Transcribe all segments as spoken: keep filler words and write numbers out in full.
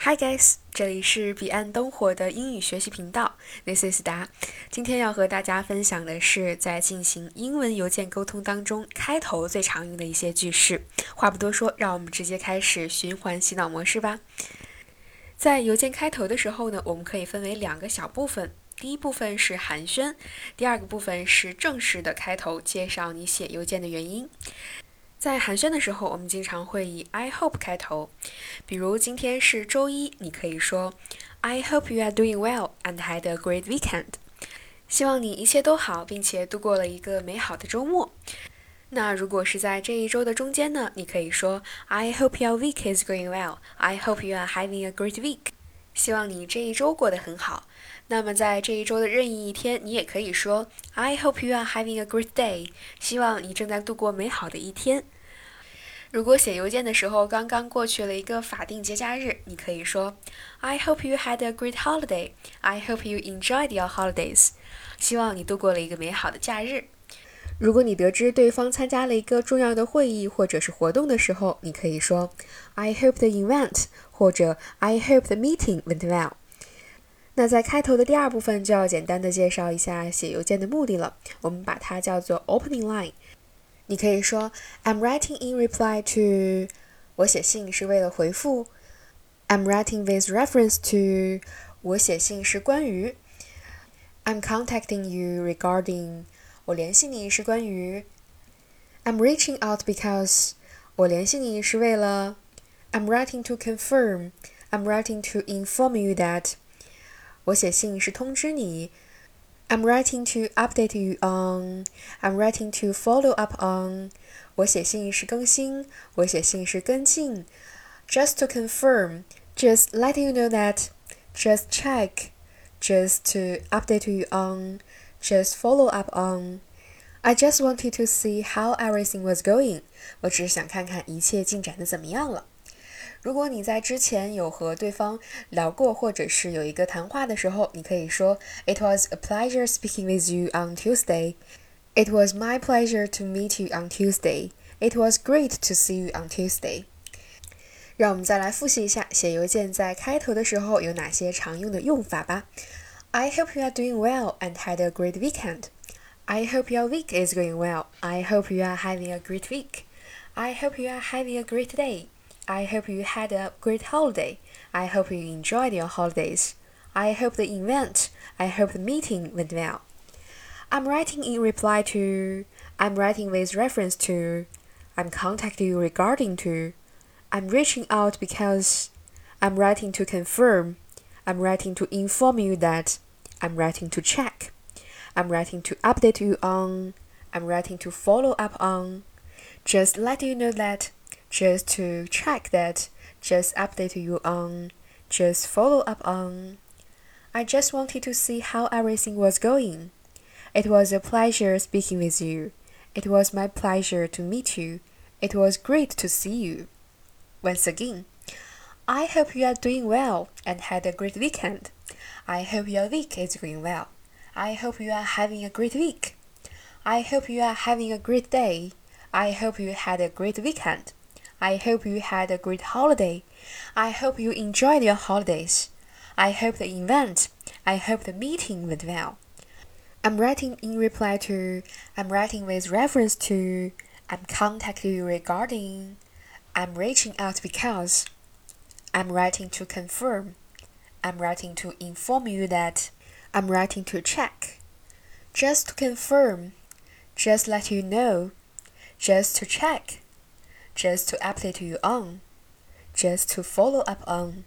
Hi guys，这里是彼岸灯火的英语学习频道 ，This is 达。今天要和大家分享的是在进行英文邮件沟通当中开头最常用的一些句式。话不多说，让我们直接开始循环洗脑模式吧。在邮件开头的时候呢，我们可以分为两个小部分。第一部分是寒暄，第二个部分是正式的开头，介绍你写邮件的原因。在寒暄的时候，我们经常会以 I hope 开头。比如今天是周一，你可以说 I hope you are doing well and had a great weekend。希望你一切都好，并且度过了一个美好的周末。那如果是在这一周的中间呢，你可以说 I hope your week is going well. I hope you are having a great week。希望你这一周过得很好。那么在这一周的任意一天，你也可以说 I hope you are having a great day。希望你正在度过美好的一天。如果写邮件的时候刚刚过去了一个法定节假日，你可以说 I hope you had a great holiday. I hope you enjoyed your holidays. 希望你度过了一个美好的假日。如果你得知对方参加了一个重要的会议或者是活动的时候，你可以说 I hope the event 或者 I hope the meeting went well。那在开头的第二部分就要简单的介绍一下写邮件的目的了，我们把它叫做 opening line。你可以说 I'm writing in reply to 我写信是为了回复 I'm writing with reference to 我写信是关于 I'm contacting you regarding 我联系你是关于 I'm reaching out because 我联系你是为了 I'm writing to confirm I'm writing to inform you that 我写信是通知你I'm writing to update you on. I'm writing to follow up on. 我写信是更新，我写信是跟进。Just to confirm, just let you know that, just check, just to update you on, just follow up on. I just wanted to see how everything was going. 我只是想看看一切进展的怎么样了。如果你在之前有和对方聊过，或者是有一个谈话的时候，你可以说 It was a pleasure speaking with you on Tuesday. It was my pleasure to meet you on Tuesday. It was great to see you on Tuesday. 让我们再来复习一下写邮件在开头的时候有哪些常用的用法吧。I hope you are doing well and had a great weekend. I hope your week is going well. I hope you are having a great week. I hope you are having a great day.I hope you had a great holiday. I hope you enjoyed your holidays. I hope the event, I hope the meeting went well. I'm writing in reply to, I'm writing with reference to, I'm contacting you regarding to, I'm reaching out because, I'm writing to confirm, I'm writing to inform you that, I'm writing to check, I'm writing to update you on, I'm writing to follow up on, just let you know that,Just to check that, just update you on, just follow up on. I just wanted to see how everything was going. It was a pleasure speaking with you. It was my pleasure to meet you. It was great to see you. Once again, I hope you are doing well and had a great weekend. I hope your week is going well. I hope you are having a great week. I hope you are having a great day. I hope you had a great weekend.I hope you had a great holiday. I hope you enjoyed your holidays. I hope the event, I hope the meeting went well. I'm writing in reply to, I'm writing with reference to, I'm contacting you regarding, I'm reaching out because, I'm writing to confirm, I'm writing to inform you that, I'm writing to check. Just to confirm, just let you know, just to check.Just to update you on, just to follow up on.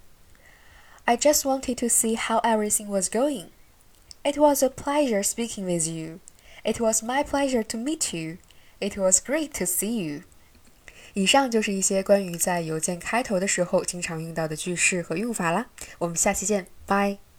I just wanted to see how everything was going. It was a pleasure speaking with you. It was my pleasure to meet you. It was great to see you. 以上就是一些关于在邮件开头的时候经常用到的句式和用法啦。我们下期见，拜。